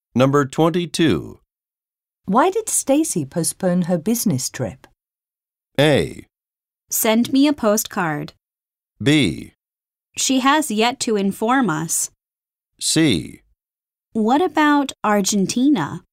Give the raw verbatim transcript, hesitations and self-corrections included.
Number twenty-two. Why did Stacy postpone her business trip? A. Send me a postcard. B. She has yet to inform us. C. What about Argentina?